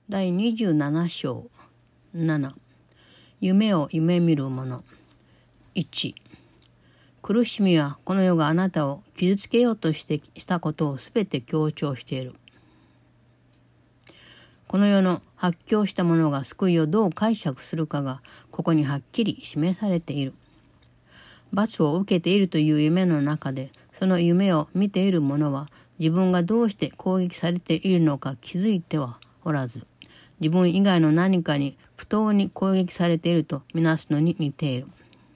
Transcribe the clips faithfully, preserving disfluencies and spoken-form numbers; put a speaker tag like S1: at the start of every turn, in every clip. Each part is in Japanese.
S1: だいにじゅうなな章なな、夢を夢見る者。いち、苦しみはこの世があなたを傷つけようとしてしたことをすべて強調している。この世の発狂した者が救いをどう解釈するかがここにはっきり示されている。罰を受けているという夢の中で、その夢を見ている者は自分がどうして攻撃されているのか気づいてはおらず、自分以外の何かに不当に攻撃されているとみなすのに似ている。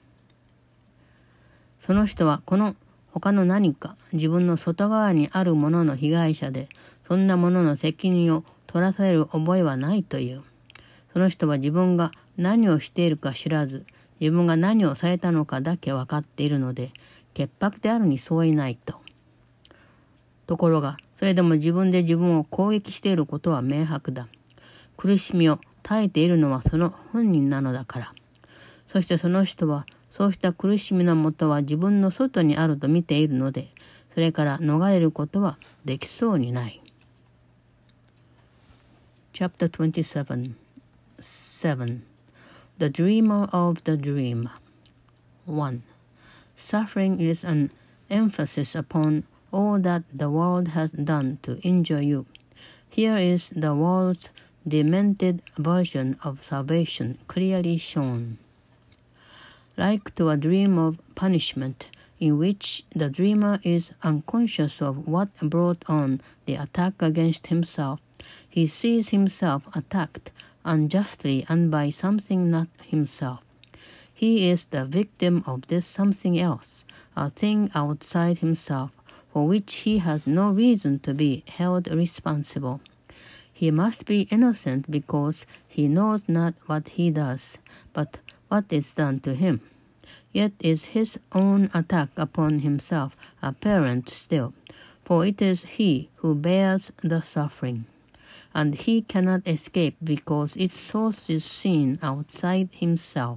S1: その人はこの他の何か自分の外側にあるものの被害者で、そんなものの責任を取らされる覚えはないという。その人は自分が何をしているか知らず、自分が何をされたのかだけ分かっているので、潔白であるに相違ないと。ところが、それでも自分で自分を攻撃していることは明白だ。苦しみを耐えているのはその本人なのだから。そしてその人は、そうした苦しみのもとは自分の外にあると見ているので、それから逃れることはできそうにない。Chapter twenty-seven. seven. The Dreamer of the Dream. one. Suffering is an emphasis upon all that the world has done to injure you. Here is the world's demented version of salvation clearly shown. Like to a dream of punishment, in which the dreamer is unconscious of what brought on the attack against himself, he sees himself attacked unjustly and by something not himself. He is the victim of this something else, a thing outside himself, for which he has no reason to be held responsible. He must be innocent because he knows not what he does, but what is done to him. Yet is his own attack upon himself apparent still, for it is he who bears the suffering, and he cannot escape because its source is seen outside himself.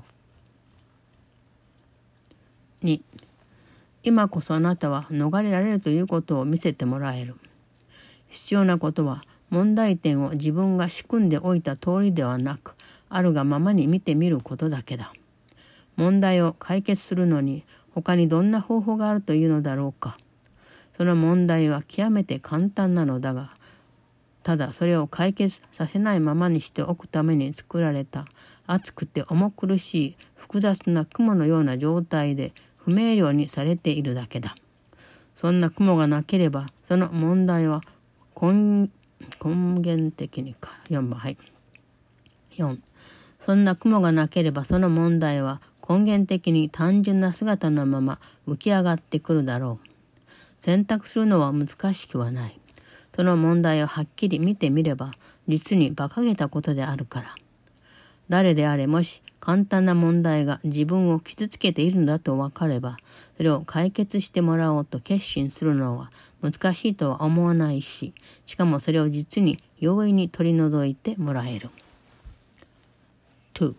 S1: に、今こそあなたは逃れられるということを見せてもらえる。必要なことは問題点を自分が仕組んでおいた通りではなく、あるがままに見てみることだけだ。問題を解決するのに他にどんな方法があるというのだろうか。その問題は極めて簡単なのだが、ただそれを解決させないままにしておくために作られた熱くて重苦しい複雑な雲のような状態で不明瞭にされているだけだ。そんな雲がなければその問題は根根源的にか。よんばん、はい。よん. そんな雲がなければその問題は根源的に単純な姿のまま浮き上がってくるだろう。選択するのは難しくはない。その問題をはっきり見てみれば実に馬鹿げたことであるから。誰であれもし簡単な問題が自分を傷つけているのだと分かれば、それを解決してもらおうと決心するのは難しいとは思わないし、しかもそれを実に容易に取り除いてもらえる。two.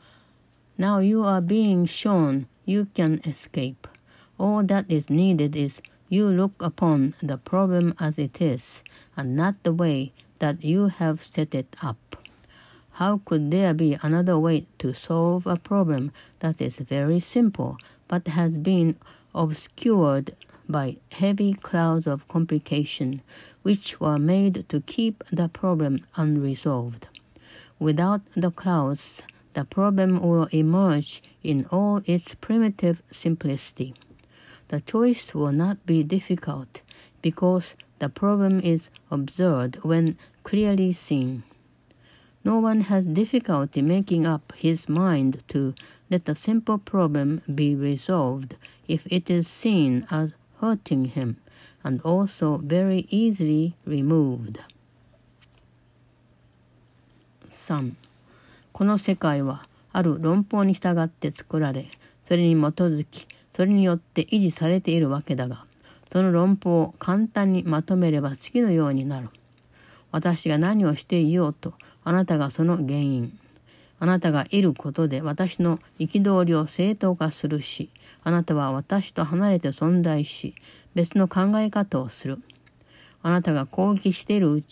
S1: Now you are being shown you can escape. All that is needed is you look upon the problem as it is, and not the way that you have set it up. How could there be another way to solve a problem that is very simple, but has been obscured by heavy clouds of complication, which were made to keep the problem unresolved? Without the clouds, the problem will emerge in all its primitive simplicity. The choice will not be difficult, because the problem is observed when clearly seen. No one has difficulty making up his mind to let a simple problem be resolved if it is seen as hurting him, and also very easily removed. さん. この世界はある論法に従って作られ、それに基づき、それによって維持されているわけだが、その論法を簡単にまとめれば次のようになる。私が何をしていようと、あなたがその原因。あなたがいることで私の憤りを正当化するし、あなたは私と離れて存在し、別の考え方をする。あなたが攻撃しているうちは、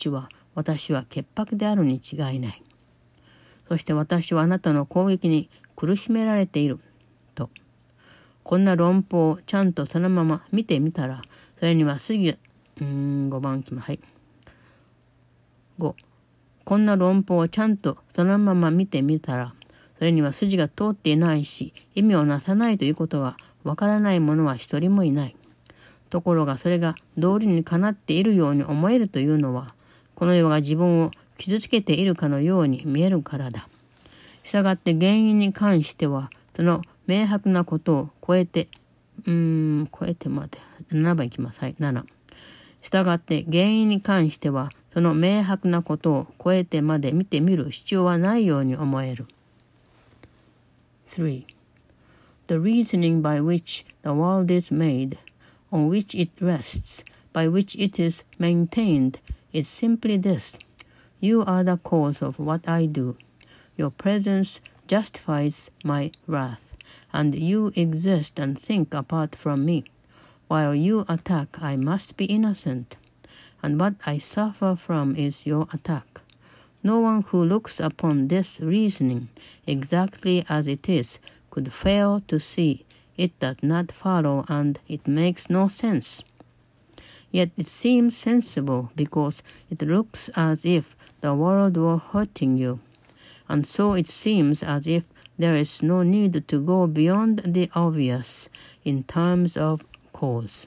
S1: 私は潔白であるに違いない。そして私はあなたの攻撃に苦しめられている。と。こんな論法をちゃんとそのまま見てみたら、それには筋が、うーん、ごばんきます。はい。ご。こんな論法をちゃんとそのまま見てみたら、それには筋が通っていないし、意味をなさないということがわからない者は一人もいない。ところがそれが道理にかなっているように思えるというのは、この世が自分を傷つけているかのように見えるからだ。したがって原因に関しては、その明白なことを超えて、うーん、超えてまで、ななばんいきます。はい、なな。したがって原因に関しては、その明白なことを超えてまで見てみる必要はないように思える。three. The reasoning by which the world is made, on which it rests, by which it is maintained, is simply this. You are the cause of what I do. Your presence justifies my wrath, and you exist and think apart from me. While you attack, I must be innocent, and what I suffer from is your attack. No one who looks upon this reasoning exactly as it is could fail to see it does not follow and it makes no sense. Yet it seems sensible because it looks as if the world were hurting you, and so it seems as if there is no need to go beyond the obvious in terms of cause.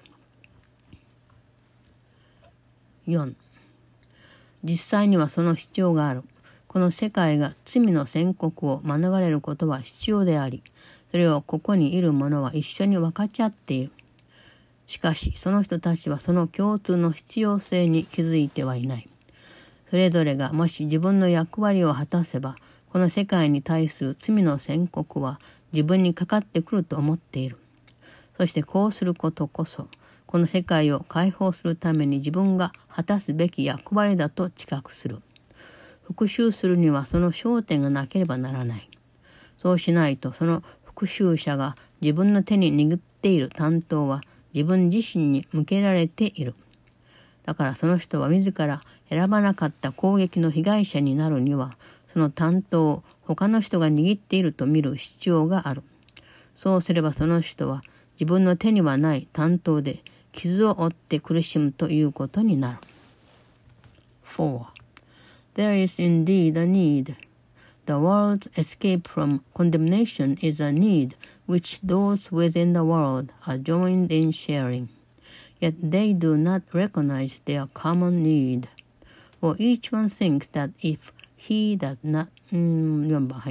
S1: よん. 実際にはその必要がある。この世界が罪の宣告を免れることは必要であり、それをここにいる者は一緒に分かち合っている。しかし、その人たちはその共通の必要性に気づいてはいない。それぞれがもし自分の役割を果たせば、この世界に対する罪の宣告は自分にかかってくると思っている。そしてこうすることこそ、この世界を解放するために自分が果たすべき役割だと知覚する。復讐するにはその焦点がなければならない。そうしないとその復讐者が自分の手に握っている担当は自分自身に向けられている。だからその人は自ら選ばなかった攻撃の被害者になるには、その担当を他の人が握っていると見る必要がある。そうすればその人は自分の手にはない担当で傷を負って苦しむということになる。four. There is indeed a need. The world's escape from condemnation is a need which those within the world are joined in sharing. Yet they do not recognize their common need. For each one thinks that if he does not, うん、よんばん、はい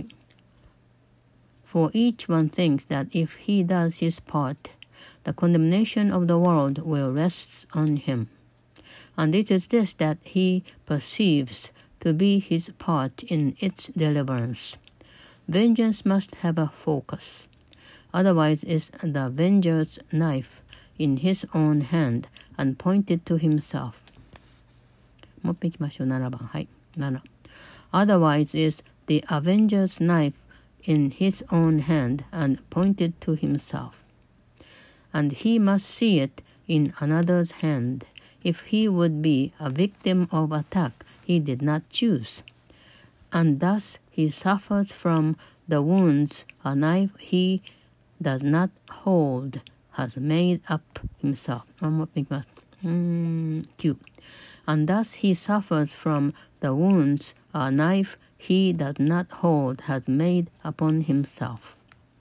S1: 。For each one thinks that if he does his part, the condemnation of the world will rest on him. And it is this that he perceives to be his part in its deliverance. Vengeance must have a focus. Otherwise is the avenger's knife in his own hand and pointed to himself. もう一回いきましょう。ななばん。はい。なな. Otherwise is the avenger's knife in his own hand and pointed to himself. And he must see it in another's hand if he would be a victim of attack he did not choose. And thus he suffers from the wounds a knife he does not hold has made up himself. もう一回いきます。うーん、きゅう. And thus he suffers from the wounds a knife he does not hold has made upon himself.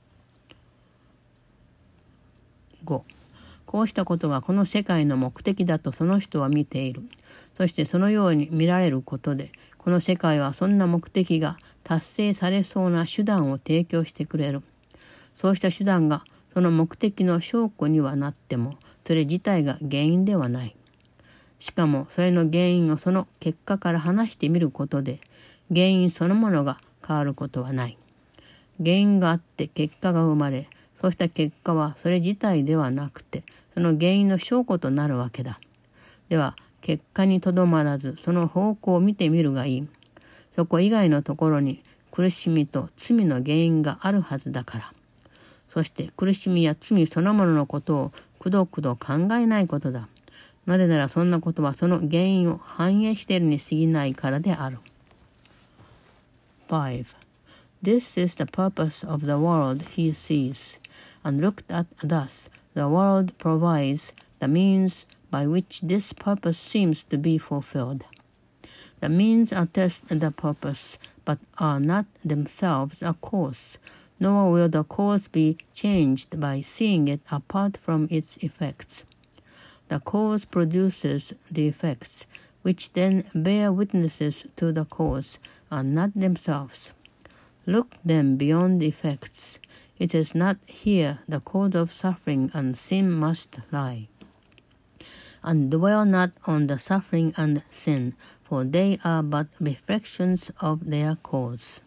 S1: ご. こうしたことがこの世界の目的だとその人は見ている。そしてそのように見られることで、この世界はそんな目的が達成されそうな手段を提供してくれる。そうした手段がその目的の証拠にはなっても、それ自体が原因ではない。しかもそれの原因をその結果から話してみることで、原因そのものが変わることはない。原因があって結果が生まれ、そうした結果はそれ自体ではなくて、その原因の証拠となるわけだ。では、結果にとどまらず、その方向を見てみるがいい。そこ以外のところに苦しみと罪の原因があるはずだから。そして苦しみや罪そのもののことをくどくど考えないことだ。 なぜならそんなことはその原因を反映しているに過ぎないからである。five. This is the purpose of the world he sees, and looked at thus, the world provides the means by which this purpose seems to be fulfilled. The means attest the purpose, but are not themselves a cause, nor will the cause be changed by seeing it apart from its effects. The cause produces the effects, which then bear witnesses to the cause, and not themselves. Look then beyond the effects. It is not here the cause of suffering and sin must lie. And dwell not on the suffering and sin, for they are but reflections of their cause.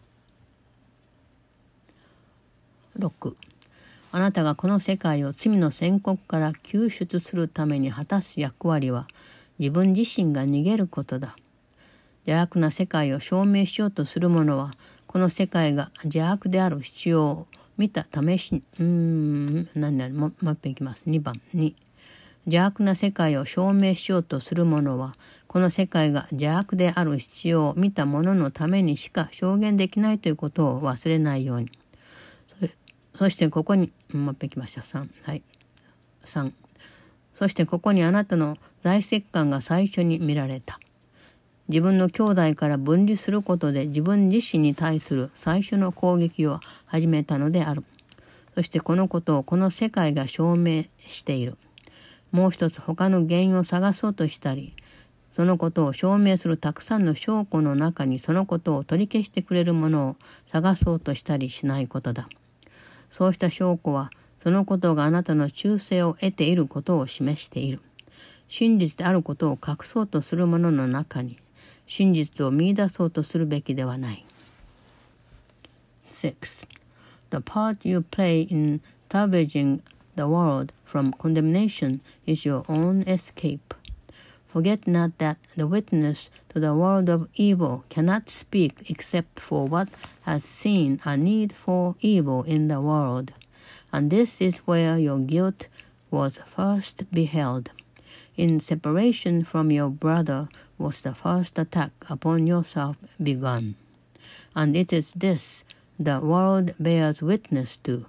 S1: ろく. あなたがこの世界を罪の宣告から救出するために果たす役割は、自分自身が逃げることだ。邪悪な世界を証明しようとする者は、この世界が邪悪である必要を見た試しに、うーん、何々、もう一遍いきます。にばんに。邪悪な世界を証明しようとする者は、この世界が邪悪である必要を見た者のためにしか証言できないということを忘れないように。そ, そしてここに、もう一遍いきました。さん。はい。さん。そしてここにあなたの財石感が最初に見られた。自分の兄弟から分離することで自分自身に対する最初の攻撃を始めたのである。そしてこのことをこの世界が証明している。もう一つ他の原因を探そうとしたり、そのことを証明するたくさんの証拠の中にそのことを取り消してくれるものを探そうとしたりしないことだ。そうした証拠はそのことがあなたの忠誠を得ていることを示している。真実であることを隠そうとする者の中に真実を見出そうとするべきではない。six. The part you play in salvaging the world from condemnation is your own escape. Forget not that the witness to the world of evil cannot speak except for what has seen a need for evil in the world, and this is where your guilt was first beheld. In separation from your brother was the first attack upon yourself begun, and it is this the world bears witness to.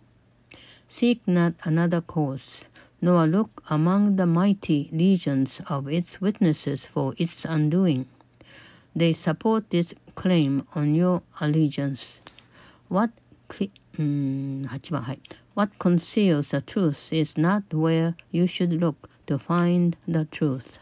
S1: Seek not another cause, nor look among the mighty legions of its witnesses for its undoing. They support this claim on your allegiance. What, um, はちばん、はい。What conceals the truth is not where you should look to find the truth.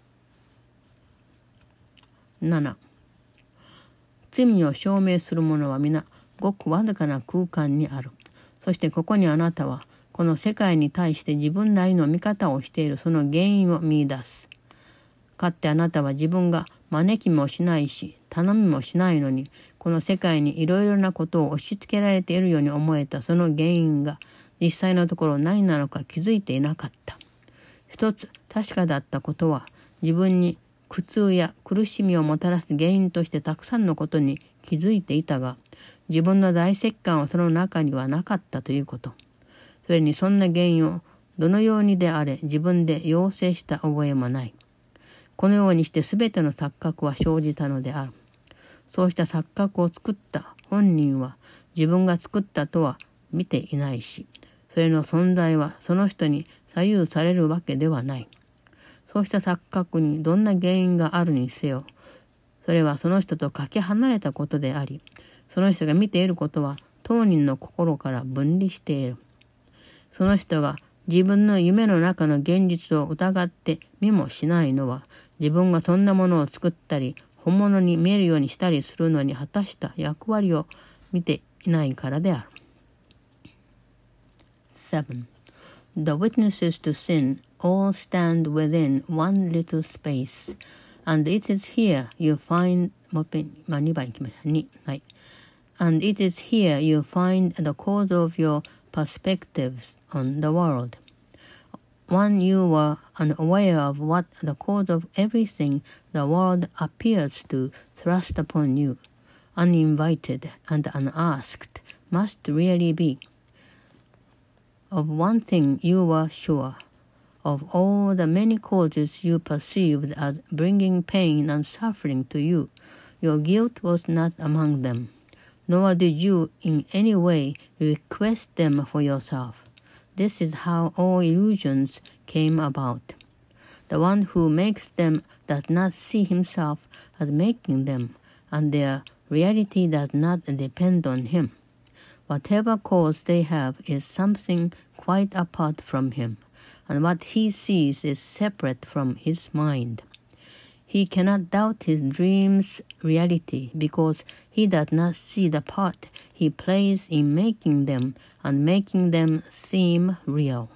S1: なな. 罪を証明する者は皆ごくわずかな空間にある。そしてここにあなたはこの世界に対して自分なりの見方をしているその原因を見出す。かってあなたは自分が招きもしないし頼みもしないのにこの世界にいろいろなことを押し付けられているように思えたその原因が実際のところ何なのか気づいていなかった。一つ確かだったことは自分に苦痛や苦しみをもたらす原因としてたくさんのことに気づいていたが自分の大石感はその中にはなかったということ。それにそんな原因をどのようにであれ自分で要請した覚えもない。このようにしてすべての錯覚は生じたのである。そうした錯覚を作った本人は自分が作ったとは見ていないし、それの存在はその人に左右されるわけではない。そうした錯覚にどんな原因があるにせよ、それはその人とかけ離れたことであり、その人が見ていることは当人の心から分離している。その人が自分の夢の中の現実を疑って見もしないのは、自分がそんなものを作ったり、本物に見えるようにしたりするのに果たした役割を見ていないからである。seven. The witnesses to sin all stand within one little space, and it is here you find, もう一遍、まあ、にばんいきました。に、はい。And it is here you find the cause of your perspectives on the world. When you were unaware of what the cause of everything the world appears to thrust upon you, uninvited and unasked, must really be. Of one thing you were sure, of all the many causes you perceived as bringing pain and suffering to you, your guilt was not among them, nor did you in any way request them for yourself. This is how all illusions came about. The one who makes them does not see himself as making them, and their reality does not depend on him. Whatever cause they have is something quite apart from him, and what he sees is separate from his mind. He cannot doubt his dream's reality because he does not see the part he plays in making them and making them seem real.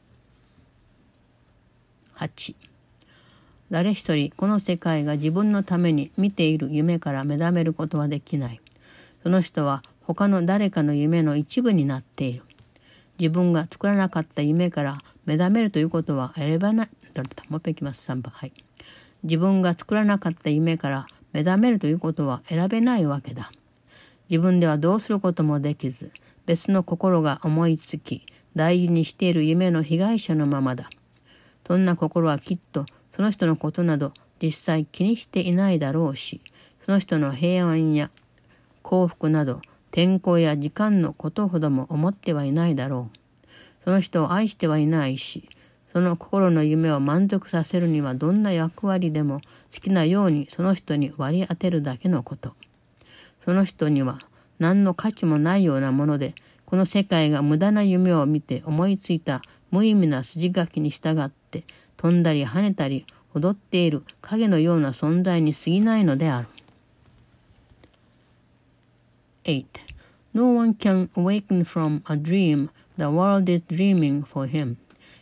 S1: はち. 誰一人この世界が自分のために見ている夢から目覚めることはできない。その人は他の誰かの夢の一部になっている。自分が作らなかった夢から目覚めるということは選ばない。もう一回いきます。さんばん。はい。自分が作らなかった夢から目覚めるということは選べないわけだ。自分ではどうすることもできず、別の心が思いつき、大事にしている夢の被害者のままだ。そんな心はきっとその人のことなど実際気にしていないだろうし、その人の平安や幸福など天候や時間のことほども思ってはいないだろう。その人を愛してはいないし、その心の夢を満足させるにはどんな役割でも好きなようにその人に割り当てるだけのこと。その人には何の価値もないようなもので、この世界が無駄な夢を見て思いついた無意味な筋書きに従って飛んだり跳ねたり踊っている影のような存在に過ぎないのである。eight. No one can awaken from a dream the world is dreaming for him.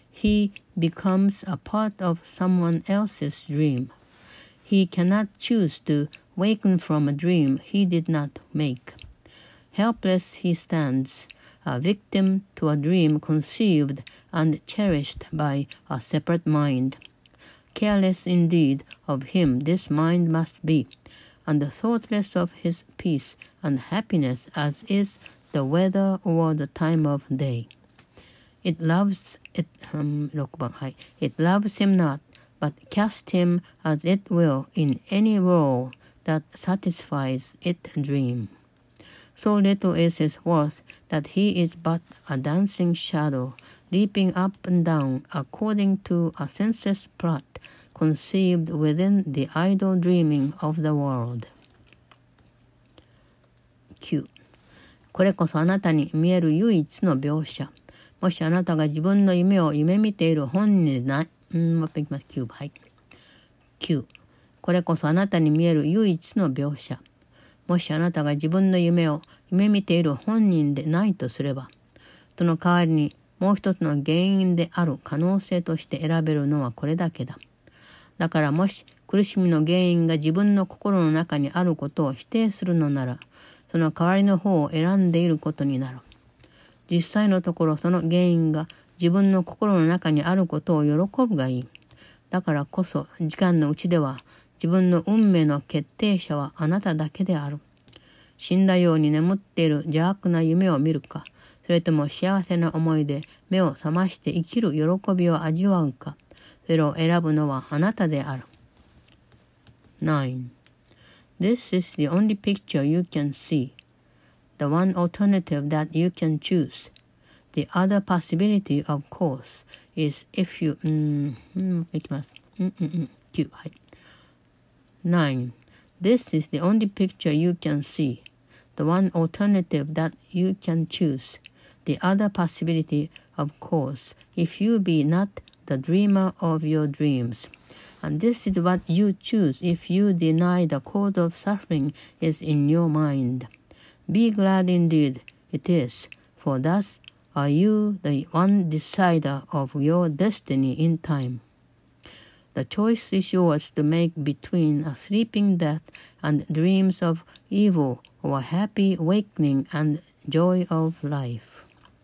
S1: He becomes a part of someone else's dream. He cannot choose to waken from a dream he did not make. Helpless he stands, a victim to a dream conceived and cherished by a separate mind. Careless indeed of him this mind must be, and thoughtless of his peace and happiness as is the weather or the time of day. It loves it, um, ろくばん、はい。It loves him not, but casts him as it will in any role that satisfies its dream. So little is his worth that he is but a dancing shadow, leaping up and down according to a senseless plot conceived within the idle dreaming of the world. きゅう. これこそあなたに見える唯一の描写。もしあなたが自分の夢を夢見ている本人でない、うん、もう一回いきます。きゅうばん、はい。きゅう. これこそあなたに見える唯一の描写。もしあなたが自分の夢を夢見ている本人でないとすれば、その代わりにもう一つの原因である可能性として選べるのはこれだけだ。だからもし苦しみの原因が自分の心の中にあることを否定するのなら、その代わりの方を選んでいることになる。実際のところその原因が自分の心の中にあることを喜ぶがいい。だからこそ時間のうちでは自分の運命の決定者はあなただけである。死んだように眠っている邪悪な夢を見るか、それとも幸せな思いで目を覚まして生きる喜びを味わうか、それを選ぶのはあなたである。nine. This is the only picture you can see, the one alternative that you can choose. The other possibility, of course, is if you... うん、うん、いきます。うんうんうん。きゅう、はい。nine. This is the only picture you can see, the one alternative that you can choose. The other possibility, of course, if you be not the dreamer of your dreams. And this is what you choose if you deny the cause of suffering is in your mind. Be glad indeed it is, for thus are you the one decider of your destiny in time. The choice is yours to make between a sleeping death and dreams of evil or a happy awakening and joy of life.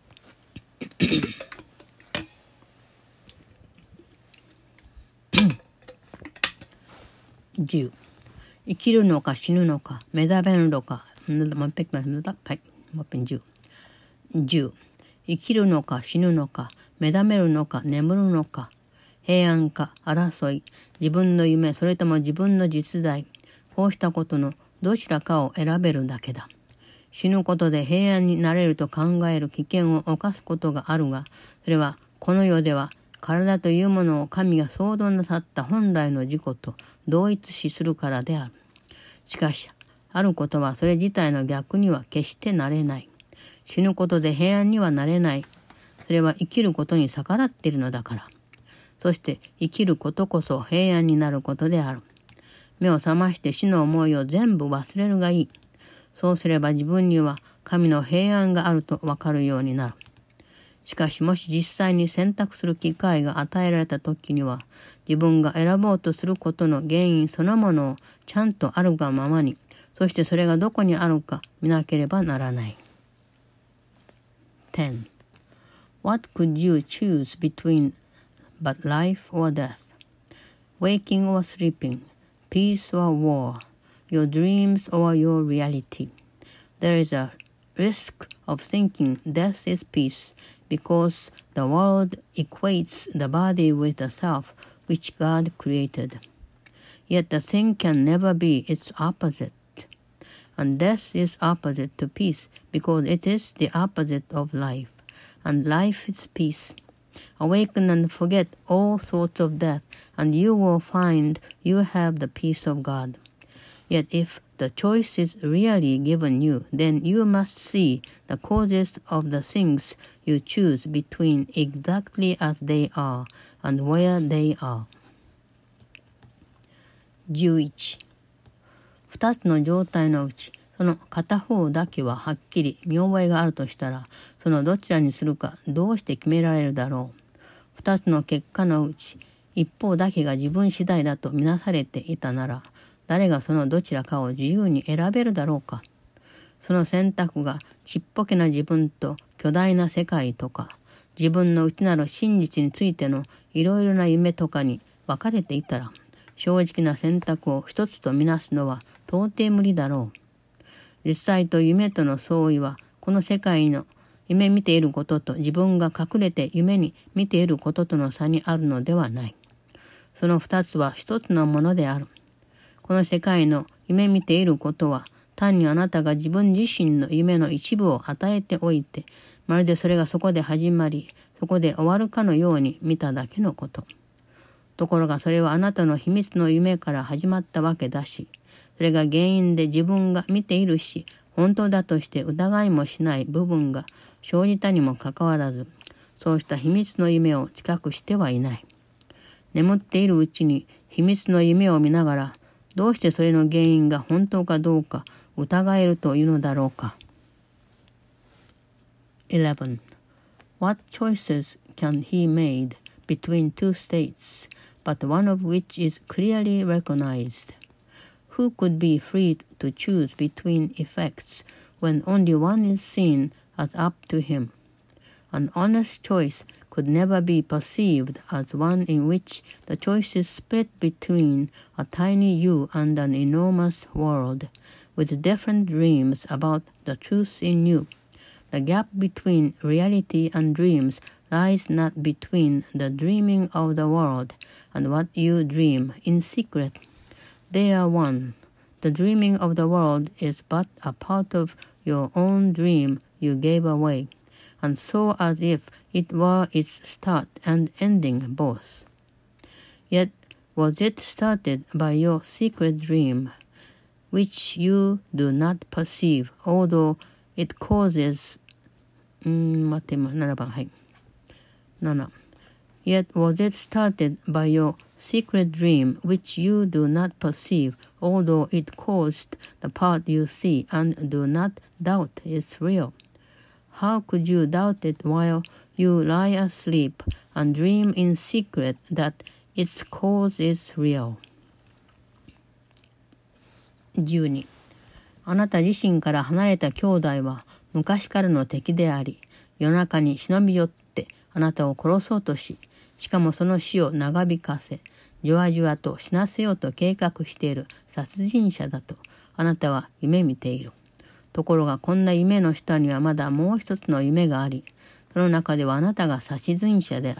S1: じゅう. 生きるのか死ぬのか目覚めるのかもう一回はいもう一遍じゅう. じゅう. 生きるのか死ぬのか目覚めるのか眠るのか平安か争い、自分の夢、それとも自分の実在、こうしたことのどちらかを選べるだけだ。死ぬことで平安になれると考える危険を冒すことがあるが、それはこの世では体というものを神が創造なさった本来の自己と同一視するからである。しかし、あることはそれ自体の逆には決してなれない。死ぬことで平安にはなれない。それは生きることに逆らっているのだから。そして生きることこそ平安になることである。目を覚まして死の思いを全部忘れるがいい。そうすれば自分には神の平安があるとわかるようになる。しかしもし実際に選択する機会が与えられた時には、自分が選ぼうとすることの原因そのものをちゃんとあるがままに、そしてそれがどこにあるか見なければならない。ten. What could you choose between but life or death? Waking or sleeping? Peace or war? Your dreams or your reality? There is a risk of thinking death is peace because the world equates the body with the self which God created. Yet the thing can never be its opposite. And death is opposite to peace because it is the opposite of life. And life is peace. Awaken and forget all thoughts of death, and you will find you have the peace of God. Yet if the choice is really given you, then you must see the causes of the things you choose between exactly as they are and where they are. じゅういち. 二つの状態のうち、その片方だけははっきり見覚えがあるとしたら、そのどちらにするかどうして決められるだろう。二つの結果のうち、一方だけが自分次第だとみなされていたなら、誰がそのどちらかを自由に選べるだろうか。その選択がちっぽけな自分と巨大な世界とか、自分の内なる真実についてのいろいろな夢とかに分かれていたら、正直な選択を一つとみなすのは到底無理だろう。実際と夢との相違は、この世界の夢見ていることと自分が隠れて夢に見ていることとの差にあるのではない。その二つは一つのものである。この世界の夢見ていることは、単にあなたが自分自身の夢の一部を与えておいて、まるでそれがそこで始まり、そこで終わるかのように見ただけのこと。ところがそれはあなたの秘密の夢から始まったわけだし、それが原因で自分が見ているし、本当だとして疑いもしない部分が生じたにもかかわらず、そうした秘密の夢を知覚してはいない。眠っているうちに秘密の夢を見ながら、どうしてそれの原因が本当かどうか疑えるというのだろうか。eleven. What choices can he made between two states, but one of which is clearly recognized? Who could be free to choose between effects when only one is seen as up to him? An honest choice could never be perceived as one in which the choice is split between a tiny you and an enormous world, with different dreams about the truth in you. The gap between reality and dreams lies not between the dreaming of the world and what you dream in secret. They are one. The dreaming of the world is but a part of your own dream you gave away, and so as if it were its start and ending both. Yet was it started by your secret dream, which you do not perceive, although it causes... うーん、待ってななばん、はい。なな. Yet was it started by your secret dream, which you do not perceive, although it caused the part you see and do not doubt is real. How could you doubt it while you lie asleep and dream in secret that its cause is real? じゅうに. あなた自身から離れた兄弟は昔からの敵であり、夜中に忍び寄ってあなたを殺そうとし、しかもその死を長引かせ、じわじわと死なせようと計画している殺人者だとあなたは夢見ている。ところがこんな夢の下にはまだもう一つの夢があり、その中ではあなたが殺人者であり、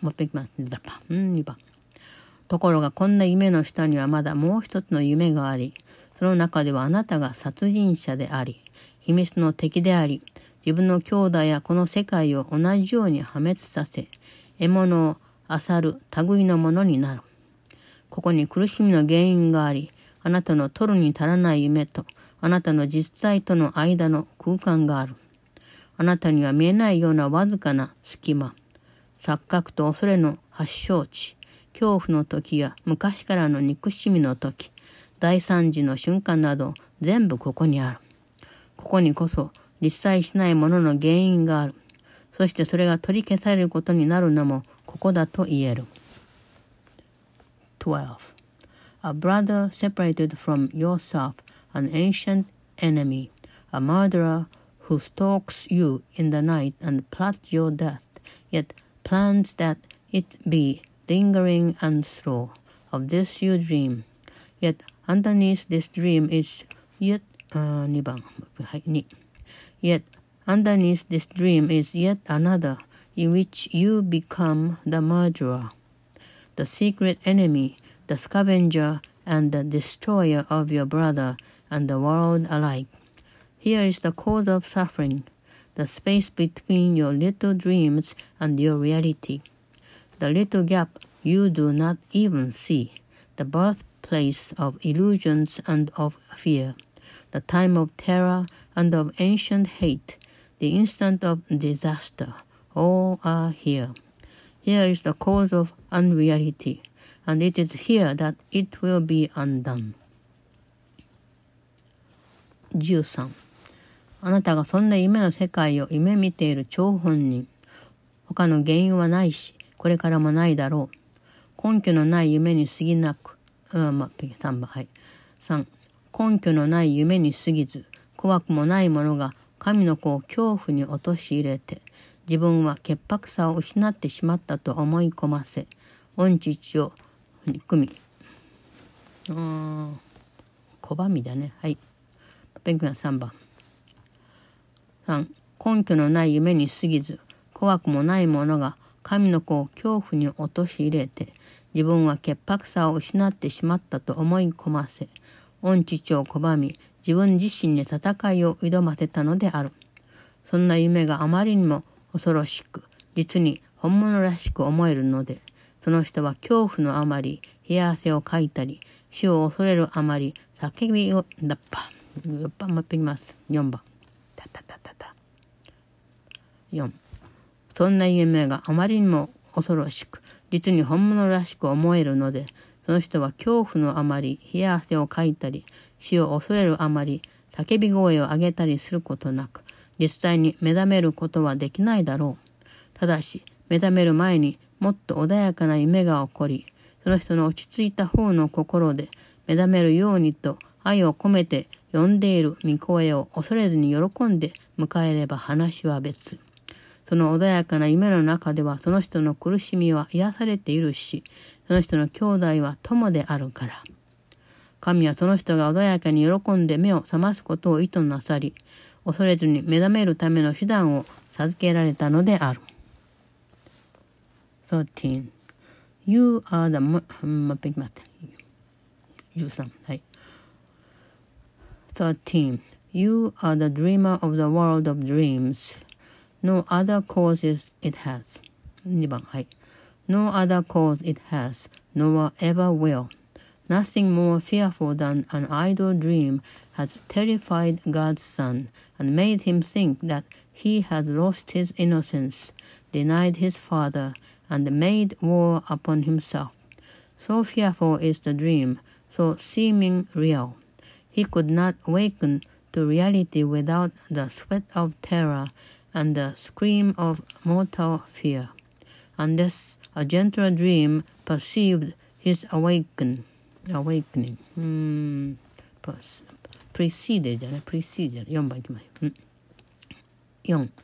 S1: もう一回いきます。うん、にばん。ところがこんな夢の下にはまだもう一つの夢があり、その中ではあなたが殺人者であり、秘密の敵であり、自分の兄弟やこの世界を同じように破滅させ、獲物を漁る類のものになる。ここに苦しみの原因があり、あなたの取るに足らない夢と、あなたの実際との間の空間がある。あなたには見えないようなわずかな隙間、錯覚と恐れの発祥地、恐怖の時や昔からの憎しみの時、大惨事の瞬間など全部ここにある。ここにこそ実際しないものの原因がある。そしてそれが取り消されることになるのもここだと言える。twelve. A brother separated from yourself, an ancient enemy, a murderer who stalks you in the night and plots your death, yet plans that it be lingering and slow. Of this you dream. Yet underneath this dream is yet uh, にばん、はい、に Yet underneath this dream is yet another in which you become the murderer, the secret enemy, the scavenger and the destroyer of your brother and the world alike. Here is the cause of suffering, the space between your little dreams and your reality, the little gap you do not even see, the birthplace of illusions and of fear, the time of terror and of ancient hate, the instant of disaster, all are here. Here is the cause of unreality, and it is here that it will be undone. じゅうさん. あなたがそんな夢の世界を夢見ている張本人。他の原因はないし、これからもないだろう。根拠のない夢に過ぎなく、うん、まあ、さんばん、はい。さん. 根拠のない夢に過ぎず、怖くもないものが神の子を恐怖に陥れて、自分は潔白さを失ってしまったと思い込ませ、御父を憎み、あー、拒みだね。はい。勉強はさんばん。さん. 根拠のない夢に過ぎず、怖くもないものが神の子を恐怖に陥れて、自分は潔白さを失ってしまったと思い込ませ、御父を拒み、自分自身に戦いを挑ませたのである。そんな夢があまりにも恐ろしく、実に本物らしく思えるので、その人は恐怖のあまり、冷や汗をかいたり、死を恐れるあまり、叫びを、だっぱ、よっぱ、もう一回いきます。よんばん。たたたたた。よん. そんな夢があまりにも恐ろしく、実に本物らしく思えるので、その人は恐怖のあまり、冷や汗をかいたり、死を恐れるあまり、叫び声を上げたりすることなく、実際に目覚めることはできないだろう。ただし、目覚める前にもっと穏やかな夢が起こり、その人の落ち着いた方の心で目覚めるようにと愛を込めて呼んでいる御声を恐れずに喜んで迎えれば話は別。その穏やかな夢の中ではその人の苦しみは癒されているし、その人の兄弟は友であるから。神はその人が穏やかに喜んで目を覚ますことを意図なさり、恐れずに目覚めるための手段を授けられたのである。thirteen. You are the... ま、待って。じゅうさん。はい。thirteen. You are the dreamer of the world of dreams. No other causes it has. にばん。はい。No other cause it has, nor ever will. Nothing more fearful than an idle dream has terrified God's Son and made him think that he had lost his innocence, denied his Father, and made war upon himself. So fearful is the dream, so seeming real. He could not awaken to reality without the sweat of terror and the scream of mortal fear, unless a gentle dream perceived his awaken, awakening. うーん、preceded じゃない、preceded。よんばんいきます。うん、よん.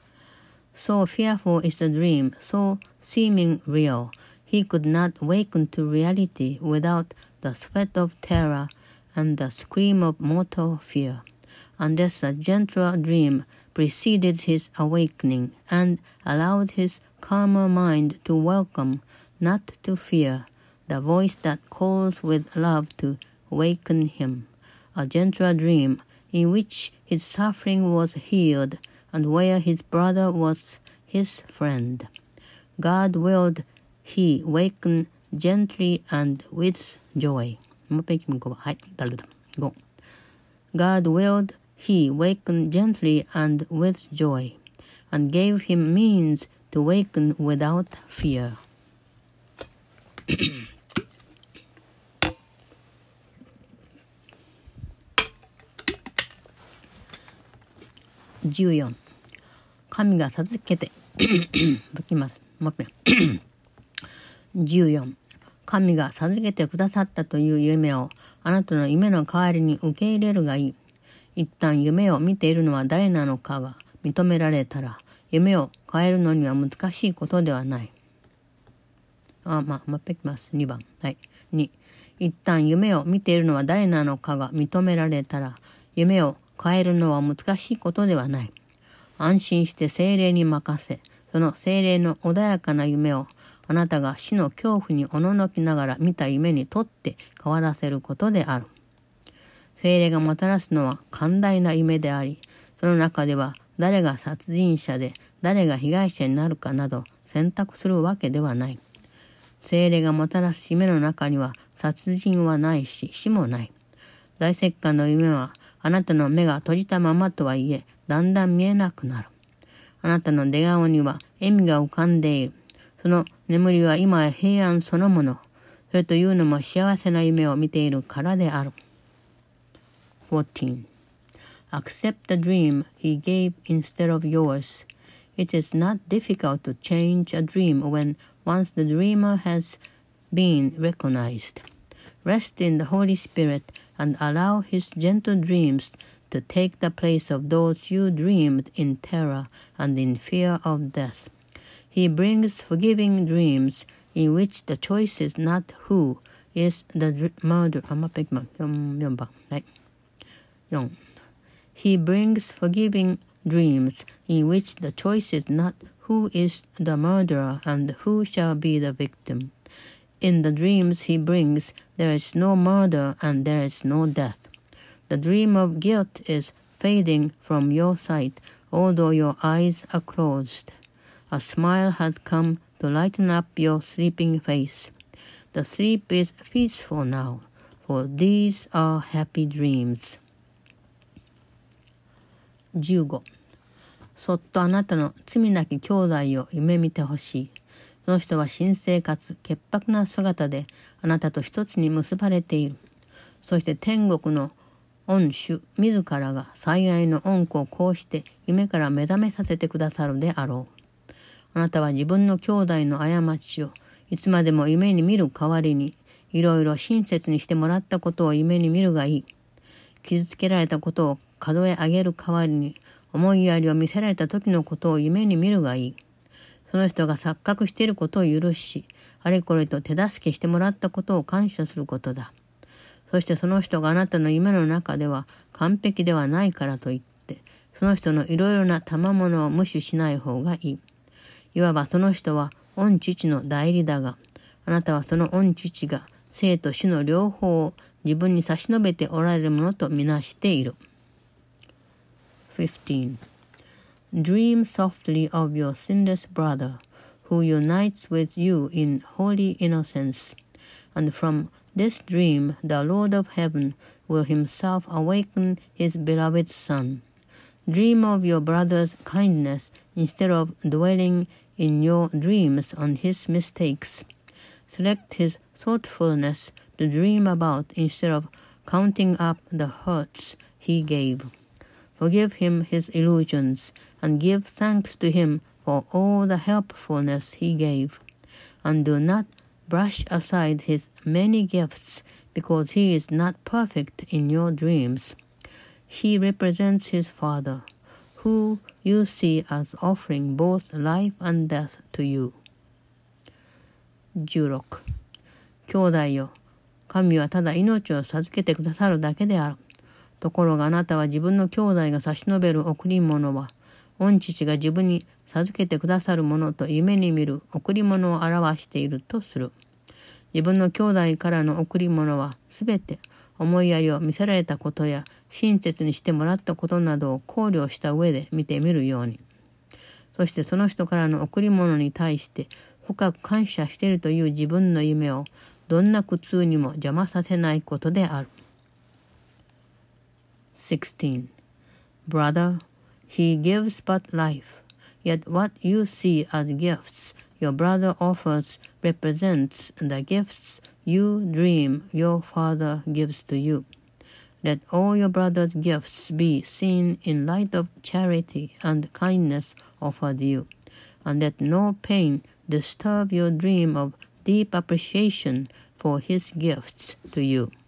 S1: So fearful is the dream, so seeming real. He could not awaken to reality without the sweat of terror and the scream of mortal fear, unless a gentle dream preceded his awakening and allowed his calmer mind to welcome, not to fear, the voice that calls with love to awaken him, a gentler dream in which his suffering was healed and where his brother was his friend. God willed he waken gently and with joy. もう一回いきます。はい、誰だ。ご。God willed he waken gently and with joy, and gave him means to waken without fear. じゅうよん。神が授けて解きます。もう一遍。じゅうよん。神が授けてくださったという夢をあなたの夢の代わりに受け入れるがいい。一旦夢を見ているのは誰なのかが認められたら、夢を変えるのには難しいことではない。あ、まあ、もう一回いきます。にばん。はい。に。一旦夢を見ているのは誰なのかが認められたら、夢を変えるのは難しいことではない。安心して精霊に任せ、その精霊の穏やかな夢をあなたが死の恐怖におののきながら見た夢にとって変わらせることである。精霊がもたらすのは寛大な夢であり、その中では誰が殺人者で誰が被害者になるかなど選択するわけではない。精霊がもたらす夢の中には殺人はないし死もない。大石棺の夢はあなたの目が閉じたままとはいえだんだん見えなくなる。あなたの出顔には笑みが浮かんでいる。その眠りは今や平安そのもの。それというのも幸せな夢を見ているからである。fourteen. Accept the dream he gave instead of yours. It is not difficult to change a dream when once the dreamer has been recognized. Rest in the Holy Spirit and allow his gentle dreams to take the place of those you dreamed in terror and in fear of death. He brings forgiving dreams in which the choice is not who is the murderer. あ、もう一回いきます。よんばん。はい。よん. He brings forgiving dreams in which the choice is not who is the murderer and who shall be the victim. In the dreams he brings, there is no murder and there is no death. The dream of guilt is fading from your sight, although your eyes are closed. A smile has come to lighten up your sleeping face. The sleep is peaceful now, for these are happy dreams. じゅうご. そっとあなたの罪なき兄弟を夢見てほしい。その人は神聖かつ潔白な姿であなたと一つに結ばれている。そして天国の御主自らが最愛の恩子をこうして夢から目覚めさせてくださるであろう。あなたは自分の兄弟の過ちをいつまでも夢に見る代わりに、いろいろ親切にしてもらったことを夢に見るがいい。傷つけられたことを数え上げる代わりに、思いやりを見せられた時のことを夢に見るがいい。その人が錯覚していることを許し、あれこれと手助けしてもらったことを感謝することだ。そしてその人があなたの夢の中では完璧ではないからといって、その人のいろいろな賜物を無視しない方がいい。いわばその人は御父の代理だが、あなたはその御父が生と死の両方を自分に差し伸べておられるものとみなしている。fifteen. Dream softly of your sinless brother, who unites with you in holy innocence, and from this dream the Lord of heaven will himself awaken his beloved son. Dream of your brother's kindness instead of dwelling in your dreams on his mistakes. Select his thoughtfulness to dream about instead of counting up the hurts he gave. Forgive him his illusions and give thanks to him for all the helpfulness he gave. And do not brush aside his many gifts because he is not perfect in your dreams. He represents his father, who you see as offering both life and death to you. じゅうろく. 兄弟よ、神はただ命を授けてくださるだけである。ところがあなたは自分の兄弟が差し伸べる贈り物は、 御父が自分に授けてくださるものと夢に見る贈り物を表しているとする。自分の兄弟からの贈り物はすべて思いやりを見せられたことや親切にしてもらったことなどを考慮した上で見てみるように。そしてその人からの贈り物に対して深く感謝しているという自分の夢をどんな苦痛にも邪魔させないことである。sixteen. Brother, he gives but life, yet what you see as gifts your brother offers represents the gifts you dream your father gives to you. Let all your brother's gifts be seen in light of charity and kindness offered you, and let no pain disturb your dream of deep appreciation for his gifts to you.